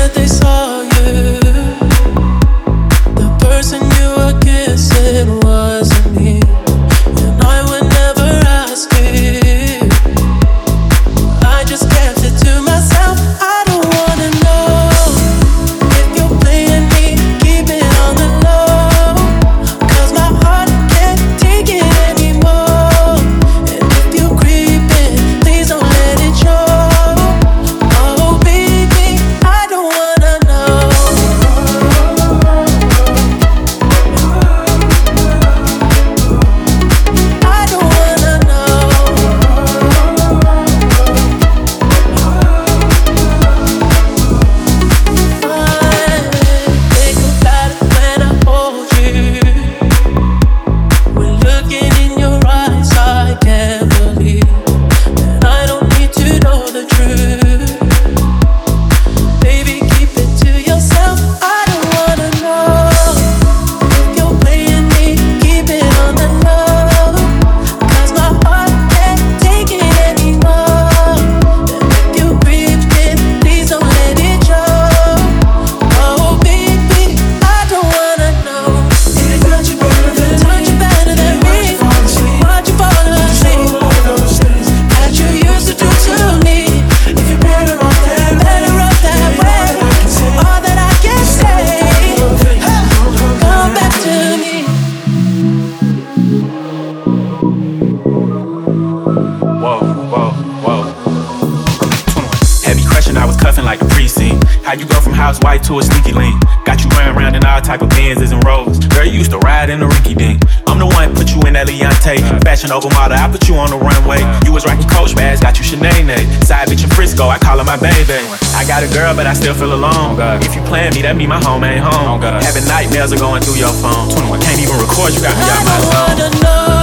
that they saw you, the person you were kissing wasn't me, and I would never ask you. I just kept it to myself. I don't wanna know if you're playing me, keep it on the low, 'cause my heart can't take it anymore. And if you're creeping, please don't let it show. Oh baby, I don't wanna know. I don't wanna know. Think about it when I hold you. When looking in your eyes, I can't believe, and I don't need to know the truth. Baby, keep it to yourself. I don't wanna know if you're playing me, keep it on the low, 'cause my heart can't take it anymore. And if you creeping, please don't let it show. Oh baby, I don't wanna know. Touch you better than me. Watch you fall asleep. That you used to do to me. If you're better off that way. All that I can say, come back to me. Whoa, whoa, whoa. 21. Heavy crushing, I was cuffing like a precinct. How you go from house white to a sneaky link? Got you running around in all type of Benzes and Rolls. Girl, you used to ride in the rinky dink. I'm the one put you in that Leontay. Fashion over model, I put you on the runway. You was rocking Coach bags, got you Sinead. Side bitch in Frisco, I call her my baby. I got a girl, but I still feel alone. If you playing me, that mean my home ain't home. Having nightmares are going through your phone. 21, can't even record, you got me out my I don't zone. wanna know